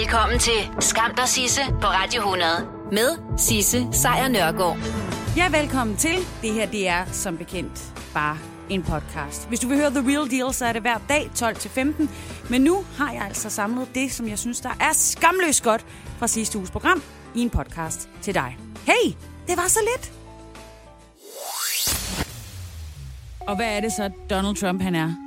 Velkommen til Skam dig Sisse på Radio 100 med Sisse Sejr Nørgaard. Ja, velkommen til. Det her, det er som bekendt bare en podcast. Hvis du vil høre The Real Deal, så er det hver dag 12-15. Men nu har jeg altså samlet det, som jeg synes, der er skamløst godt fra sidste uges program i en podcast til dig. Hey, det var så lidt. Og hvad er det så, Donald Trump han er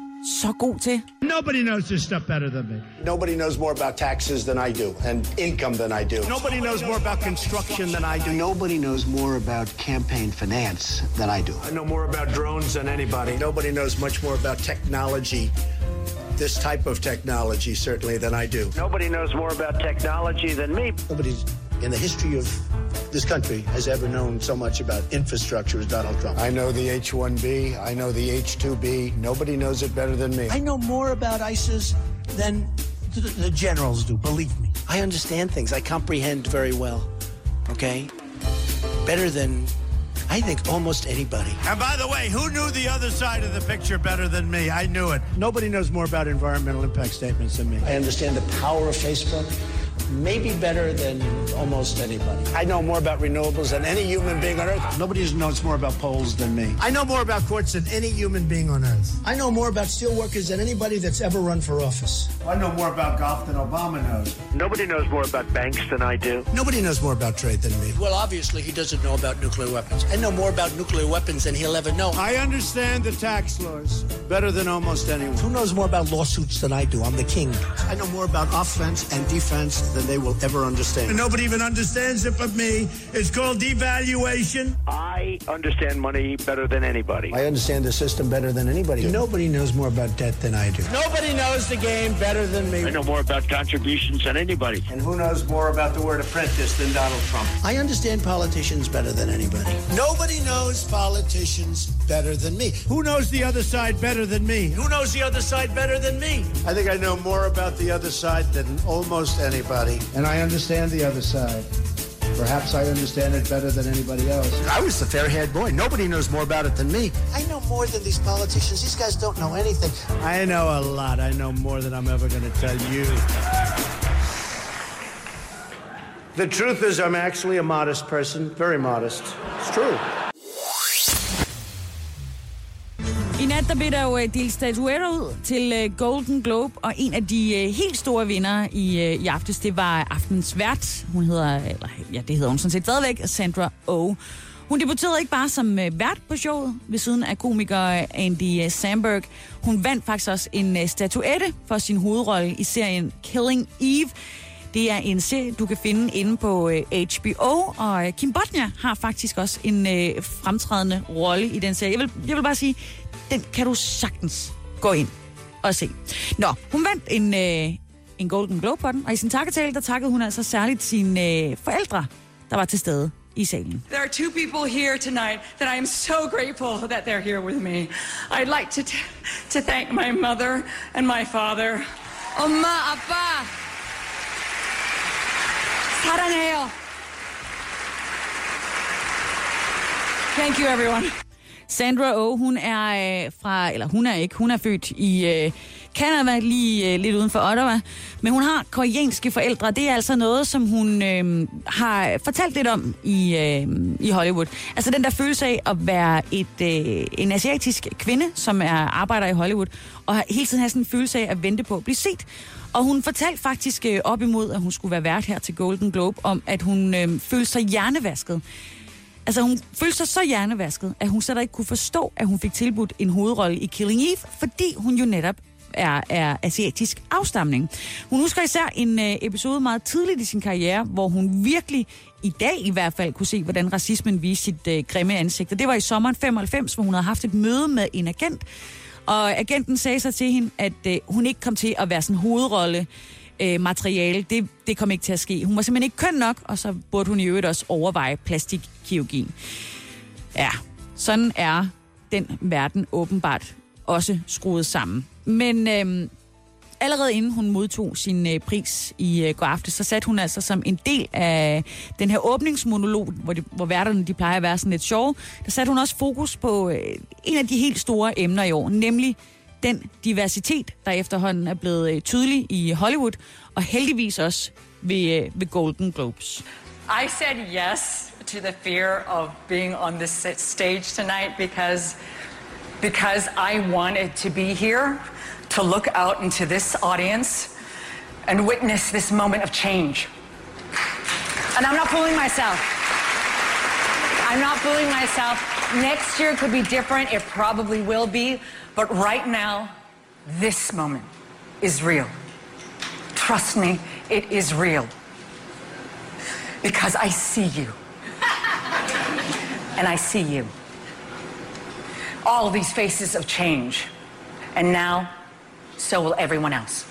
så god til? Nobody knows this stuff better than me. Nobody knows more about taxes than I do, and income than I do. Nobody knows more about construction than I do. Nobody knows more about campaign finance than I do. I know more about drones than anybody. Nobody knows much more about technology, this type of technology, certainly, than I do. Nobody knows more about technology than me. Nobody in the history of this country has ever known so much about infrastructure as Donald Trump. I know the H-1B. I know the H-2B. Nobody knows it better than me. I know more about ISIS than the generals do, believe me. I understand things. I comprehend very well. Okay? Better than, I think, almost anybody. And by the way, who knew the other side of the picture better than me? I knew it. Nobody knows more about environmental impact statements than me. I understand the power of Facebook. Maybe better than almost anybody. I know more about renewables than any human being on Earth. Nobody knows more about polls than me. I know more about courts than any human being on Earth. I know more about steelworkers than anybody that's ever run for office. I know more about golf than Obama knows. Nobody knows more about banks than I do. Nobody knows more about trade than me. Well, obviously, he doesn't know about nuclear weapons. I know more about nuclear weapons than he'll ever know. I understand the tax laws better than almost anyone. Who knows more about lawsuits than I do? I'm the king. I know more about offense and defense than they will ever understand. And nobody even understands it but me. It's called devaluation. I understand money better than anybody. I understand the system better than anybody. Nobody knows more about debt than I do. Nobody knows the game better than me. I know more about contributions than anybody. And who knows more about the word apprentice than Donald Trump? I understand politicians better than anybody. Nobody knows politicians better than me. Who knows the other side better than me? Who knows the other side better than me? I think I know more about the other side than almost anybody. And I understand the other side. Perhaps I understand it better than anybody else. I was the fair-haired boy. Nobody knows more about it than me. I know more than these politicians. These guys don't know anything. I know a lot. I know more than I'm ever going to tell you. The truth is, I'm actually a modest person. Very modest. It's true. I nat der blev der jo delt statuetter ud til Golden Globe, og en af de helt store vinder i aftes, det var aftens vært. Hun hedder, det hedder hun sådan set stadigvæk, Sandra Oh. Hun debuterede ikke bare som vært på showet ved siden af komiker Andy Samberg. Hun vandt faktisk også en statuette for sin hovedrolle i serien Killing Eve. Det er en serie, du kan finde inde på HBO, og Kim Bodnia har faktisk også en fremtrædende rolle i den serie. Jeg vil bare sige, den kan du sagtens gå ind og se. Nå, hun vandt en Golden Globe på den, og i sin takketale, der takkede hun altså særligt sine forældre, der var til stede i salen. There are two people here tonight that I am so grateful that they're here with me. I'd like to thank my mother and my father. Oma, Abba! 사랑해요. Thank you, everyone. Sandra Oh, hun er født i Canada, lige lidt uden for Ottawa, men hun har koreanske forældre. Det er altså noget, som hun har fortalt lidt om i Hollywood. Altså den der følelse af at være en asiatisk kvinde, som arbejder i Hollywood, og hele tiden have sådan en følelse af at vente på at blive set. Og hun fortalte faktisk op imod, at hun skulle være vært her til Golden Globe, om at hun følte sig hjernevasket. Altså hun følte sig så hjernevasket, at hun slet ikke kunne forstå, at hun fik tilbudt en hovedrolle i Killing Eve, fordi hun jo netop er asiatisk afstamning. Hun husker især en episode meget tidligt i sin karriere, hvor hun virkelig i dag i hvert fald kunne se, hvordan racismen viste sit grimme ansigt. Og det var i sommeren 95, hvor hun havde haft et møde med en agent, og agenten sagde så til hende, at hun ikke kom til at være sådan hovedrolle materiale. Det kom ikke til at ske. Hun var simpelthen ikke køn nok, og så burde hun i øvrigt også overveje plastikkirurgi. Ja, sådan er den verden åbenbart også skruet sammen. Men allerede inden hun modtog sin pris i går aftes, så satte hun altså som en del af den her åbningsmonolog, hvor værterne de plejer at være sådan lidt sjove, der satte hun også fokus på en af de helt store emner i år, nemlig den diversitet, der efterhånden er blevet tydelig i Hollywood, og heldigvis også ved Golden Globes. I said yes to the fear of being on this stage tonight because I wanted to be here to look out into this audience and witness this moment of change. And I'm not fooling myself. I'm not fooling myself. Next year could be different. It probably will be. But right now, this moment is real. Trust me, it is real. Because I see you. And I see you. All these faces of change. And now, so will everyone else.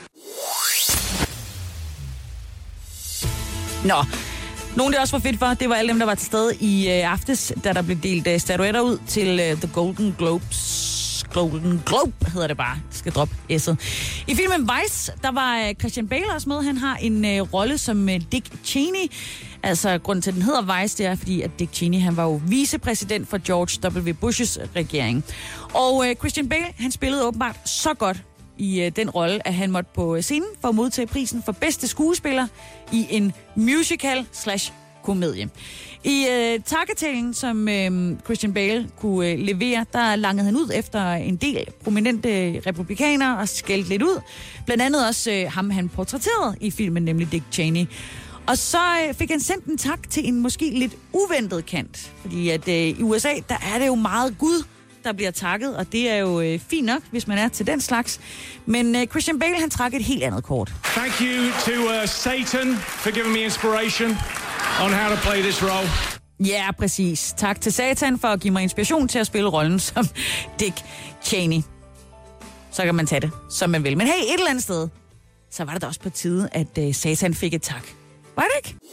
Nå, nogen det også var fedt for, det var alle dem, der var til stede i aftes, da der blev delt statuetter ud til The Golden Globes. Golden Globe hedder det bare. Jeg skal droppe S'et. I filmen Vice, der var Christian Bale også med. Han har en rolle som Dick Cheney. Altså, grunden til, at den hedder Vice, det er, fordi at Dick Cheney, han var jo vicepræsident for George W. Bush's regering. Og Christian Bale, han spillede åbenbart så godt i den rolle, at han måtte på scenen for at modtage prisen for bedste skuespiller i en musical/komedie. I takketalen, som Christian Bale kunne levere, der langede han ud efter en del prominente republikanere og skældte lidt ud. Blandt andet også ham, han portrætterede i filmen, nemlig Dick Cheney. Og så fik han sendt en tak til en måske lidt uventet kant. Fordi at i USA, der er det jo meget Gud, der bliver takket, og det er jo fint nok, hvis man er til den slags. Men Christian Bale, han trak et helt andet kort. Thank you to Satan for giving me inspiration on how to play this role. Ja, præcis. Tak til Satan for at give mig inspiration til at spille rollen som Dick Cheney. Så kan man tage det, som man vil. Men hey, et eller andet sted, så var det da også på tide, at Satan fik et tak. Var det ikke?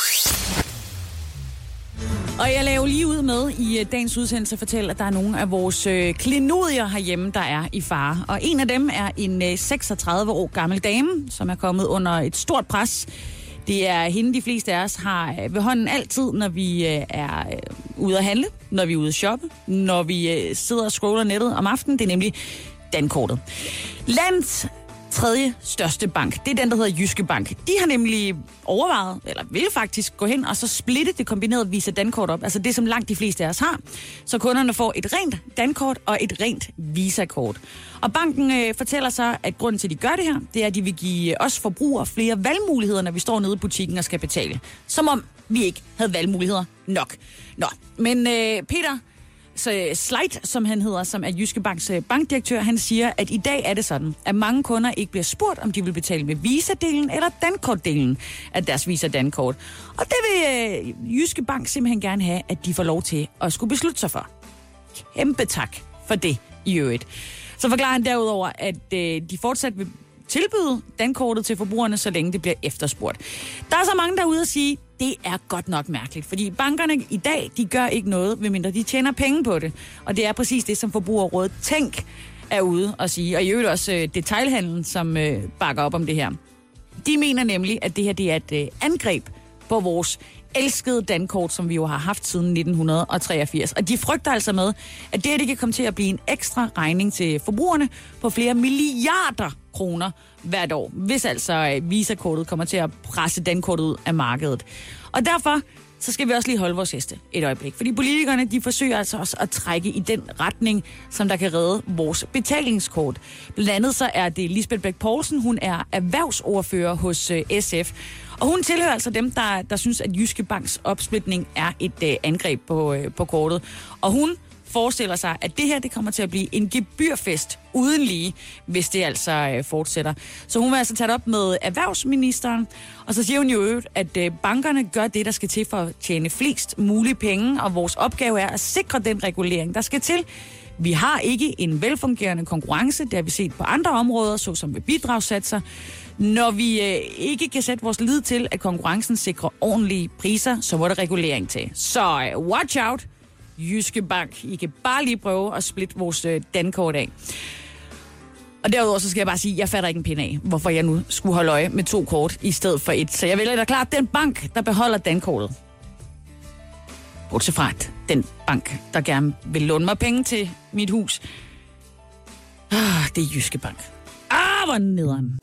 Og jeg laver lige ud med i dagens udsendelse fortælle, at der er nogle af vores klenodier herhjemme, der er i fare. Og en af dem er en 36 år gammel dame, som er kommet under et stort pres. Det er hende, de fleste af os har ved hånden altid, når vi er ude at handle, når vi er ude at shoppe, når vi sidder og scroller nettet om aftenen. Det er nemlig dankortet. Landets tredje største bank, det er den, der hedder Jyske Bank. De har nemlig overvejet, eller vil faktisk gå hen og så splitte det kombinerede Visa Dankort op, altså det, som langt de fleste af os har, så kunderne får et rent Dankort og et rent Visa-kort. Og banken fortæller så, at grunden til, at de gør det her, det er, at de vil give os forbrugere flere valgmuligheder, når vi står nede i butikken og skal betale. Som om vi ikke havde valgmuligheder nok. Nå, men Peter Sleit, som han hedder, som er Jyske Banks bankdirektør, han siger, at i dag er det sådan, at mange kunder ikke bliver spurgt, om de vil betale med Visa-delen eller Dankort-delen af deres Visa-Dankort. Og det vil Jyske Bank simpelthen gerne have, at de får lov til at skulle beslutte sig for. Kæmpe tak for det i øvrigt. Så forklarer han derudover, at de fortsat vil tilbyde dankortet til forbrugerne, så længe det bliver efterspurgt. Der er så mange derude at sige, det er godt nok mærkeligt, fordi bankerne i dag, de gør ikke noget, medmindre de tjener penge på det. Og det er præcis det, som Forbrugerrådet Tænk er ude at sige. Og i øvrigt også detailhandlen, som bakker op om det her. De mener nemlig, at det her det er et angreb på vores elskede dankort, som vi jo har haft siden 1983. Og de frygter altså med, at det her det kan komme til at blive en ekstra regning til forbrugerne på flere milliarder kroner hvert år, hvis altså Visa-kortet kommer til at presse dankortet ud af markedet. Og derfor så skal vi også lige holde vores heste et øjeblik. Fordi politikerne, de forsøger altså også at trække i den retning, som der kan redde vores betalingskort. Blandt andet så er det Lisbeth Bech Poulsen, hun er erhvervsordfører hos SF. Og hun tilhører altså dem, der synes, at Jyske Banks opsplitning er et angreb på kortet. Og hun forestiller sig, at det her det kommer til at blive en gebyrfest uden lige, hvis det altså fortsætter. Så hun vil altså tage det op med erhvervsministeren, og så siger hun jo, at bankerne gør det, der skal til for at tjene flest mulige penge, og vores opgave er at sikre den regulering, der skal til. Vi har ikke en velfungerende konkurrence, det har vi set på andre områder, såsom ved bidragssatser. Når vi ikke kan sætte vores lid til, at konkurrencen sikrer ordentlige priser, så må der regulering til. Så watch out, Jyske Bank. I kan bare lige prøve at splitte vores dankort af. Og derudover så skal jeg bare sige, at jeg fatter ikke en pind af, hvorfor jeg nu skulle holde øje med 2 kort i stedet for 1. Så jeg vælger da klart den bank, der beholder dankortet. Bortset fra den bank, der gerne vil låne mig penge til mit hus, Det er Jyske Bank. Hvor nederen.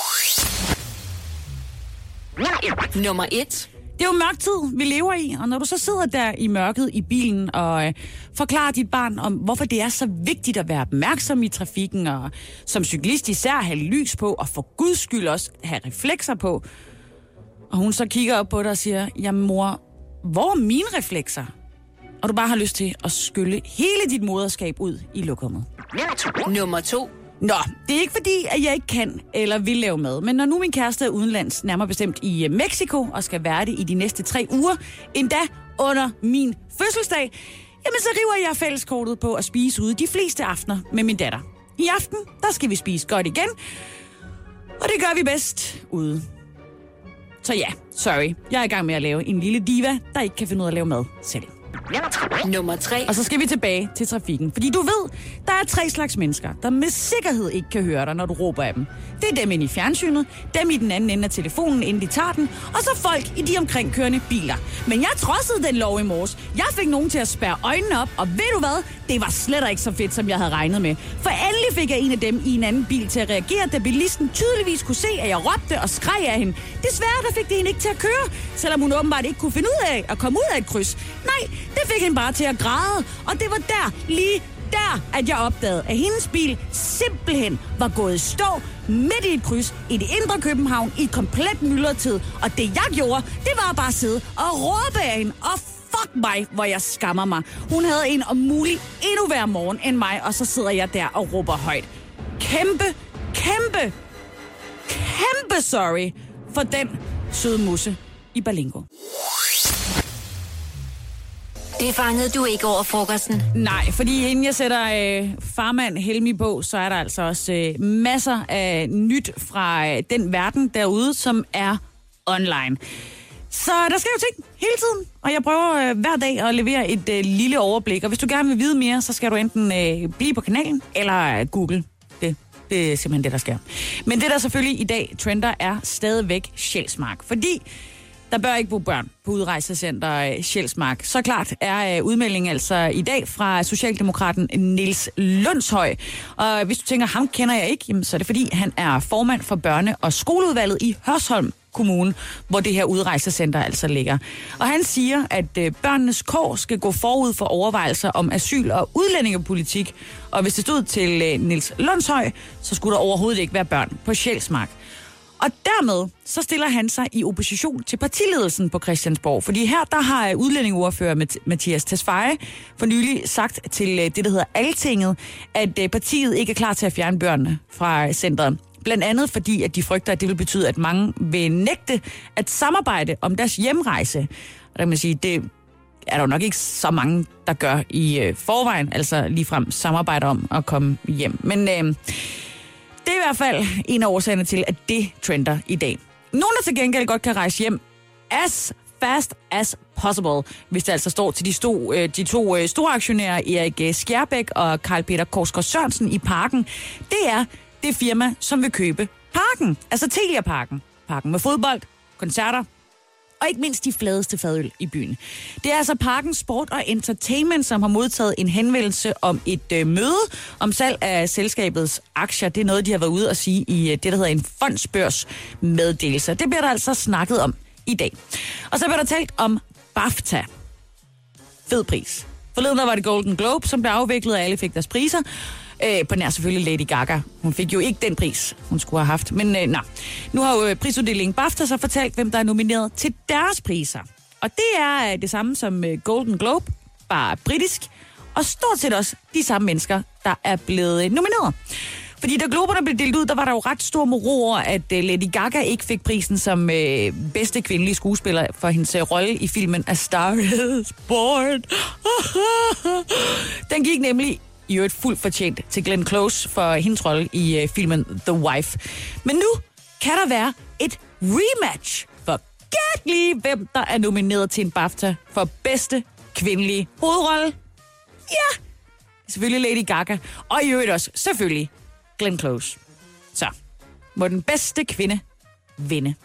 Nummer 1. Det er jo mørk tid, vi lever i, og når du så sidder der i mørket i bilen og forklarer dit barn om, hvorfor det er så vigtigt at være opmærksom i trafikken, og som cyklist især have lys på, og for guds skyld også have reflekser på, og hun så kigger op på dig og siger, jamen mor, hvor er mine reflekser? Og du bare har lyst til at skylle hele dit moderskab ud i lokummet. Nummer 2. Nå, det er ikke fordi, at jeg ikke kan eller vil lave mad, men når nu min kæreste er udenlands, nærmere bestemt i Mexico, og skal være det i de næste 3 uger, endda under min fødselsdag, jamen så river jeg fælleskortet på at spise ude de fleste aftener med min datter. I aften, der skal vi spise godt igen, og det gør vi bedst ude. Så ja, sorry, jeg er i gang med at lave en lille diva, der ikke kan finde ud af at lave mad selv. Nummer 3. Og så skal vi tilbage til trafikken. Fordi du ved, der er 3 slags mennesker, der med sikkerhed ikke kan høre dig, når du råber af dem. Det er dem inde i fjernsynet, dem i den anden ende af telefonen, inden de tager den, og så folk i de omkringkørende biler. Men jeg trodsede den lov i morges. Jeg fik nogen til at spærre øjnene op, og ved du hvad? Det var slet ikke så fedt, som jeg havde regnet med. For endelig fik jeg en af dem i en anden bil til at reagere, da bilisten tydeligvis kunne se, at jeg råbte og skreg af hende. Desværre, der fik det hende ikke til at køre, selvom hun åbenbart ikke kunne finde ud af at komme ud af et kryds. Nej, det fik hende bare til at græde, og det var lige der, at jeg opdagede, at hendes bil simpelthen var gået i stå midt i et kryds i det indre København i komplet myldretid. Og det jeg gjorde, det var bare at sidde og råbe af hende, og fuck mig, hvor jeg skammer mig. Hun havde en om muligt endnu værre morgen end mig, og så sidder jeg der og råber højt. Kæmpe sorry for den søde musse i Berlingo. Det fangede du ikke over frokosten. Nej, fordi inden jeg sætter farmand Helmi på, så er der altså også masser af nyt fra den verden derude, som er online. Så der sker jo ting hele tiden, og jeg prøver hver dag at levere et lille overblik. Og hvis du gerne vil vide mere, så skal du enten blive på kanalen eller google det. Det er simpelthen det, der sker. Men det, der selvfølgelig i dag trender, er stadigvæk Sjælsmark. Fordi der bør ikke bo børn på udrejsecenter Sjælsmark. Så klart er udmeldingen altså i dag fra Socialdemokraten Niels Lundshøj. Og hvis du tænker, ham kender jeg ikke, jamen, så er det fordi, han er formand for børne- og skoleudvalget i Hørsholm Kommune, hvor det her udrejsecenter altså ligger. Og han siger, at børnenes kår skal gå forud for overvejelser om asyl- og udlændingepolitik. Og hvis det stod til Niels Lundshøj, så skulle der overhovedet ikke være børn på Sjælsmark. Og dermed så stiller han sig i opposition til partiledelsen på Christiansborg. Fordi her der har udlændingeordfører Mathias Tesfaye for nylig sagt til det, der hedder Altinget, at partiet ikke er klar til at fjerne børnene fra centret. Blandt andet fordi, at de frygter, at det vil betyde, at mange vil nægte at samarbejde om deres hjemrejse. Og der kan man sige, det er der jo nok ikke så mange, der gør i forvejen, altså ligefrem samarbejder om at komme hjem. Men det er i hvert fald en af årsagerne til, at det trender i dag. Nogen, der til gengæld godt kan rejse hjem as fast as possible, hvis det altså står til de to store aktionærer, Erik Skjærbæk og Karl Peter Korsgaard Sørensen i Parken, det er det firma, som vil købe Parken, altså Telia Parken. Parken med fodbold, koncerter og ikke mindst de fladeste fadøl i byen. Det er altså Parken Sport og Entertainment, som har modtaget en henvendelse om et møde om salg af selskabets aktier. Det er noget, de har været ude at sige i det, der hedder en fondsbørsmeddelelse. Det bliver der altså snakket om i dag. Og så bliver der talt om BAFTA. Fed pris. Forleden der var det Golden Globe, som blev afviklet, og alle fik deres priser. På nær selvfølgelig Lady Gaga. Hun fik jo ikke den pris, hun skulle have haft. Men nu har jo prisuddelingen BAFTA så fortalt, hvem der er nomineret til deres priser. Og det er det samme som Golden Globe, bare britisk. Og stort set også de samme mennesker, der er blevet nomineret. Fordi da globerne blev delt ud, der var der jo ret stor moro over, at Lady Gaga ikke fik prisen som bedste kvindelige skuespiller for hendes rolle i filmen A Star Is Born. Den gik nemlig i øvrigt fuldt fortjent til Glenn Close for hendes rolle i filmen The Wife. Men nu kan der være et rematch for gæt lige, hvem der er nomineret til en BAFTA for bedste kvindelige hovedrolle. Ja, selvfølgelig Lady Gaga, og i øvrigt også selvfølgelig Glenn Close. Så må den bedste kvinde vinde.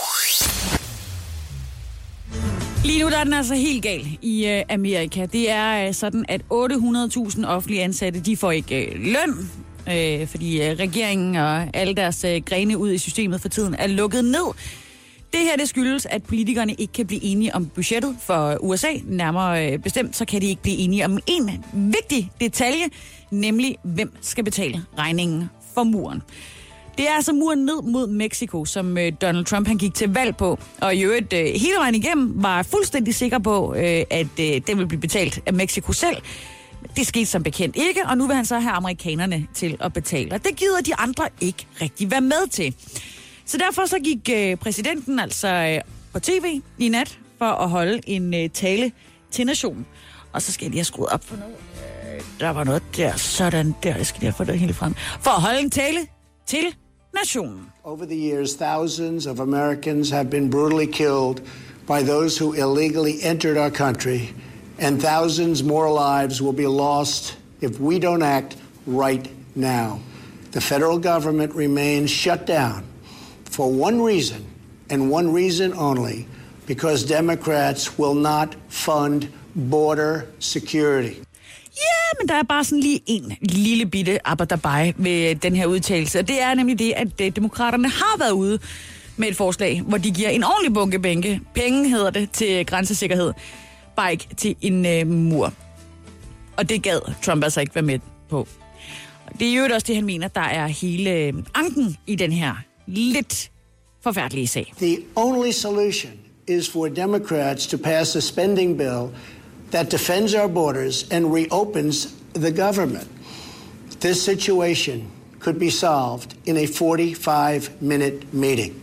Lige nu der er den altså helt gal i Amerika. Det er sådan, at 800.000 offentlige ansatte, de får ikke løn fordi regeringen og alle deres grene ud i systemet for tiden er lukket ned. Det her, det skyldes, at politikerne ikke kan blive enige om budgettet for USA. Nærmere bestemt, så kan de ikke blive enige om en vigtig detalje, nemlig hvem skal betale regningen for muren. Det er altså muren ned mod Mexico, som Donald Trump han gik til valg på, og i øvrigt hele vejen igennem var fuldstændig sikker på, at den ville blive betalt af Mexico selv. Det skete som bekendt ikke, og nu vil han så have amerikanerne til at betale. Og det gider de andre ikke rigtig være med til. Så derfor så gik præsidenten altså på tv i nat for at holde en tale til nationen. Og så skal jeg lige have skruet op for noget. Der var noget der, sådan der. Jeg skal lige have fået det helt frem. For at holde en tale til nationen. Over the years, thousands of Americans have been brutally killed by those who illegally entered our country, and thousands more lives will be lost if we don't act right now. The federal government remains shut down for one reason, and one reason only, because Democrats will not fund border security. Ja, men der er bare sådan lige en lille bitte abberdabai ved den her udtalelse. Og det er nemlig det, at demokraterne har været ude med et forslag, hvor de giver en ordentlig bunke penge, hedder det, til grænsesikkerhed. Bare ikke til en mur. Og det gad Trump altså ikke være med på. Det er jo også det, han mener, der er hele anken i den her lidt forfærdelige sag. The only solution is for Democrats to pass a spending bill that defends our borders and reopens the government. This situation could be solved in a 45-minute meeting.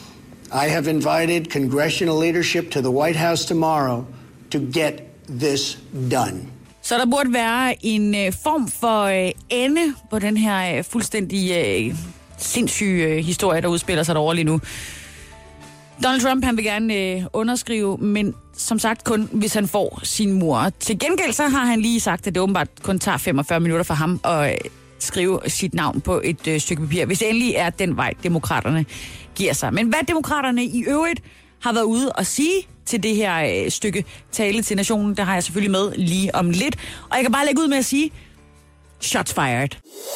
I have invited congressional leadership to the White House tomorrow to get this done. Så der burde være en form for ende på den her fuldstændig sindssyge historie, der udspiller sig derovre lige nu. Donald Trump, han vil gerne underskrive, men som sagt kun, hvis han får sin mur. Til gengæld så har han lige sagt, at det åbenbart kun tager 45 minutter for ham at skrive sit navn på et stykke papir, hvis det endelig er den vej, demokraterne giver sig. Men hvad demokraterne i øvrigt har været ude og sige til det her stykke tale til nationen, der har jeg selvfølgelig med lige om lidt. Og jeg kan bare lægge ud med at sige, shots fired.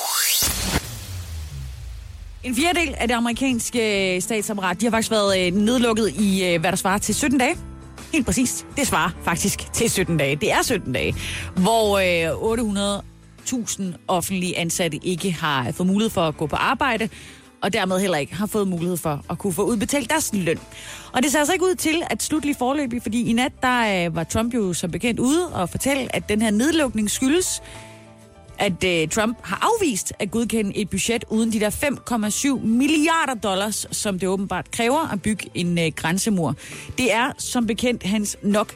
En fjerdedel af det amerikanske statsapparat, de har faktisk været nedlukket i, hvad der svarer til 17 dage. Helt præcist. Det svarer faktisk til 17 dage. Det er 17 dage, hvor 800.000 offentlige ansatte ikke har fået mulighed for at gå på arbejde, og dermed heller ikke har fået mulighed for at kunne få udbetalt deres løn. Og det ser altså ikke ud til at slutte forløbig, fordi i nat, der var Trump jo som bekendt ude og fortælle, at den her nedlukning skyldes, at Trump har afvist at godkende et budget uden de der $5,7 milliarder, som det åbenbart kræver at bygge en grænsemur. Det er som bekendt hans nok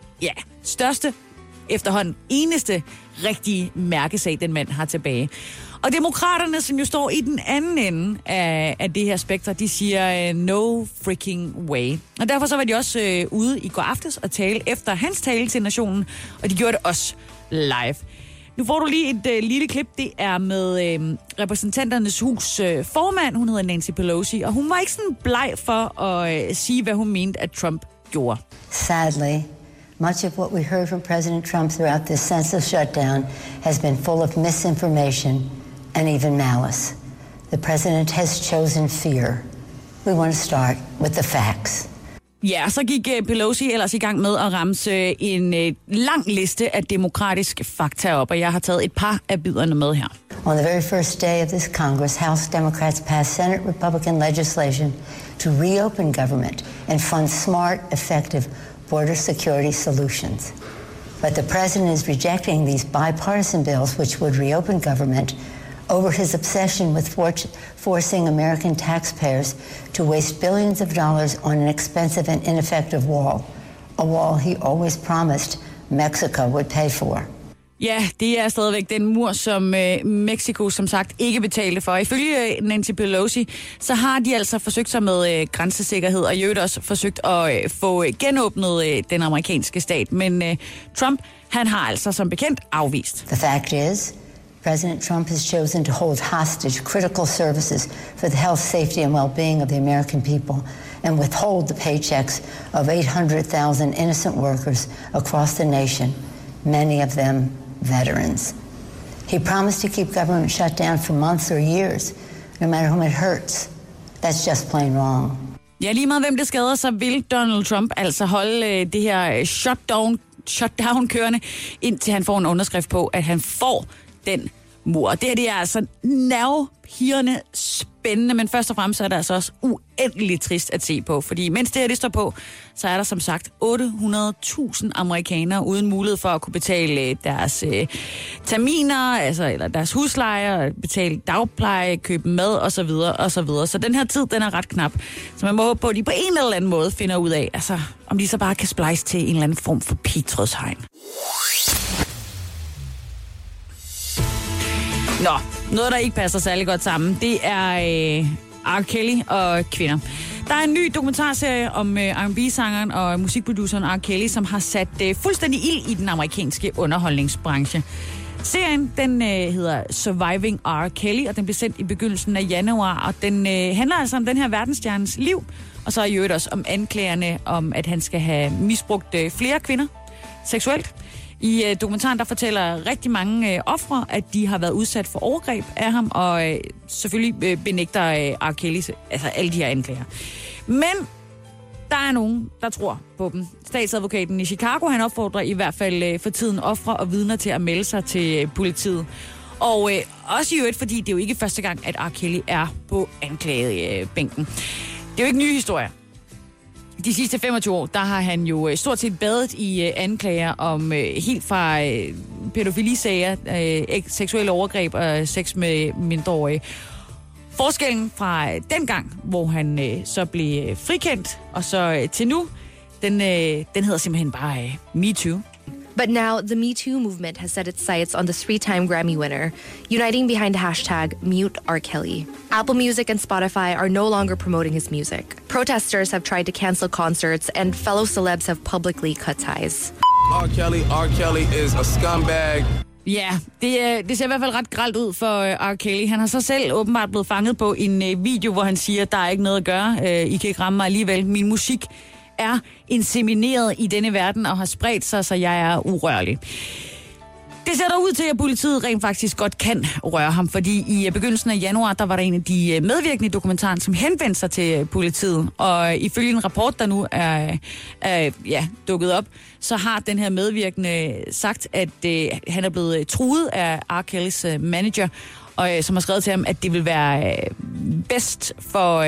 største, efterhånden eneste rigtige mærkesag, den mand har tilbage. Og demokraterne, som jo står i den anden ende af det her spektrum, de siger no freaking way. Og derfor så var de også ude i går aftes og tale efter hans tale til nationen, og de gjorde det også live. Nu får du lige et lille klip. Det er med repræsentanternes hus formand. Hun hedder Nancy Pelosi, og hun var ikke sådan bleg for at sige, hvad hun mente, at Trump gjorde. Sadly, much of what we heard from President Trump throughout this census shutdown has been full of misinformation and even malice. The president has chosen fear. We want to start with the facts. Ja, så gik Pelosi ellers i gang med at ramse en lang liste af demokratiske fakta op, og jeg har taget et par af biderne med her. On the very first day of this Congress, House Democrats passed Senate Republican legislation to reopen government and fund smart, effective border security solutions. But the president is rejecting these bipartisan bills which would reopen government over his obsession with forcing American taxpayers to waste billions of dollars on an expensive and ineffective wall, a wall he always promised Mexico would pay for. Ja, det er stadigvæk den mur, som Mexico som sagt ikke betalte for. Ifølge Nancy Pelosi, så har de altså forsøgt sig med grænsesikkerhed, og i øvrigt også forsøgt at få genåbnet den amerikanske stat. Men Trump, han har altså som bekendt afvist. The fact is, President Trump has chosen to hold hostage critical services for the health, safety and well-being of the American people and withhold the paychecks of 800,000 innocent workers across the nation, many of them veterans. He promised to keep government shut down for months or years, no matter whom it hurts. That's just plain wrong. Ja, lige meget hvem det skader, så vil Donald Trump altså holde det her shutdown kørende, indtil han får en underskrift på, at han får den mur. Det er altså nervepirrende spændende, men først og fremmest er det altså også uendeligt trist at se på, fordi mens det her det står på, så er der som sagt 800.000 amerikanere uden mulighed for at kunne betale deres terminer, eller deres huslejer, betale dagpleje, købe mad osv. osv. Så den her tid, den er ret knap. Så man må håbe på, at de på en eller anden måde finder ud af, altså om de så bare kan splice til en eller anden form for pigtrådshegn. Nå, noget der ikke passer særlig godt sammen, det er R. Kelly og kvinder. Der er en ny dokumentarserie om R&B-sangeren og musikproduceren R. Kelly, som har sat fuldstændig ild i den amerikanske underholdningsbranche. Serien, den hedder Surviving R. Kelly, og den blev sendt i begyndelsen af januar, og den handler altså om den her verdensstjernes liv, og så i øvrigt også om anklagerne om, at han skal have misbrugt flere kvinder seksuelt. I dokumentaren, der fortæller rigtig mange ofre, at de har været udsat for overgreb af ham, og selvfølgelig benægter R. Kelly altså alle de her anklager. Men der er nogen, der tror på dem. Statsadvokaten i Chicago, han opfordrer i hvert fald for tiden ofre og vidner til at melde sig til politiet. Og også i øvrigt, fordi det er jo ikke første gang, at R. Kelly er på anklagebænken. Det er jo ikke nye historier. De sidste 25 år, der har han jo stort set badet i anklager om helt fra pædofilisager, seksuelle overgreb og sex med mindreårige. Forskellen fra dengang, hvor han så blev frikendt, og så til nu, den hedder simpelthen bare MeToo. But now, the Me Too movement has set its sights on the 3-time Grammy winner, uniting behind the hashtag #MuteRKelly. Apple Music and Spotify are no longer promoting his music. Protesters have tried to cancel concerts, and fellow celebs have publicly cut ties. R. Kelly is a scumbag. Ja, det ser i hvert fald ret grelt ud for R. Kelly. Han har så selv åbenbart blevet fanget på en video, hvor han siger, der er ikke noget at gøre. I kan ikke ramme mig alligevel. Min musik er insemineret i denne verden og har spredt sig, så jeg er urørlig. Det ser dog ud til, at politiet rent faktisk godt kan røre ham, fordi i begyndelsen af januar, der var der en af de medvirkende i dokumentaren, som henvendte sig til politiet. Og ifølge en rapport, der nu er dukket op, så har den her medvirkende sagt, at han er blevet truet af R. Kellys manager, og som har skrevet til ham, at det vil være bedst for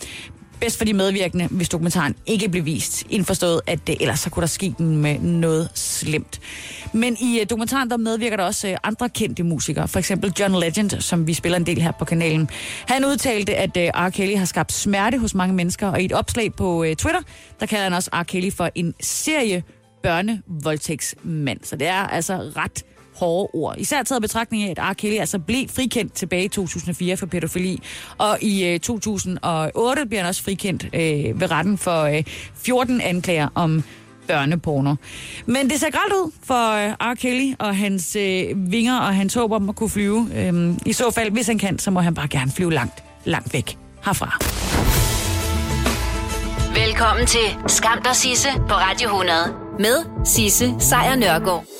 de medvirkende, hvis dokumentaren ikke blev vist. Indforstået, at ellers så kunne der ske med noget slemt. Men i dokumentaren, der medvirker der også andre kendte musikere. For eksempel John Legend, som vi spiller en del her på kanalen. Han udtalte, at R. Kelly har skabt smerte hos mange mennesker, og i et opslag på Twitter, der kalder han også R. Kelly for en serie børnevoldtægtsmand. Så det er altså ret hårde ord. Især taget betragtning af, at R. Kelly altså blev frikendt tilbage i 2004 for pædofili, og i 2008 bliver han også frikendt ved retten for 14 anklager om børneporno. Men det ser grelt ud for R. Kelly og hans vinger og hans håb om at kunne flyve. I så fald, hvis han kan, så må han bare gerne flyve langt, langt væk herfra. Velkommen til Skam dig Sisse på Radio 100 med Sisse Sejr Nørgaard.